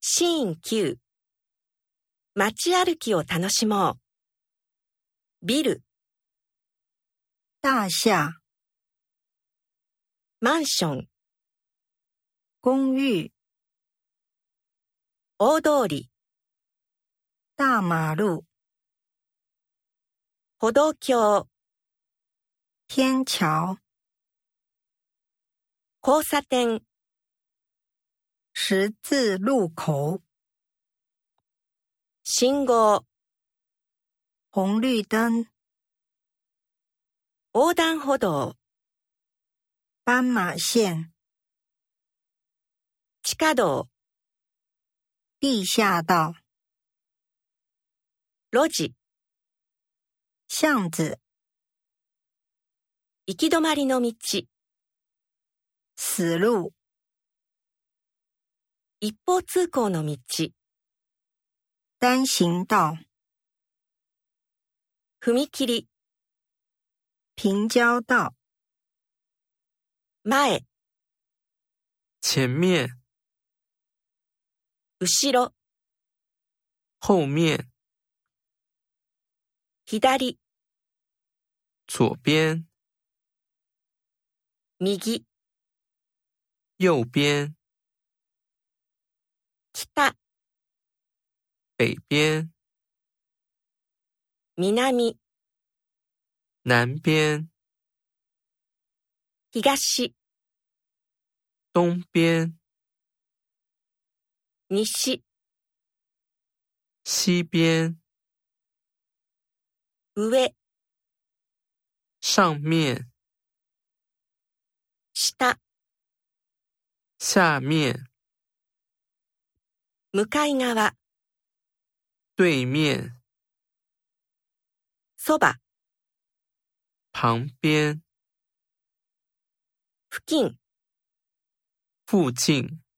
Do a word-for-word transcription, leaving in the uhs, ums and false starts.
シーンきゅう。街歩きを楽しもう。ビル、 大厦、 マンション、 公寓、 大通り、 大马路、 歩道橋、 天桥、 交差点、 十字路口、 信号、 红绿灯、 横断歩道、 斑马线、 地下道、 地下道、 路地、 巷子、 行き止まりの道、 死路、 一方通行の道、 单行道、 踏切、 平交道、 前、 前面、 後ろ、 后面、 左、 左边、 右、 右边、 北、 北边、 南、 南边、 東、 东边、 西、 西边、 上、 上面、 下、 下面、 向かい側、 对面、 そば、 旁边、 付近、 附近。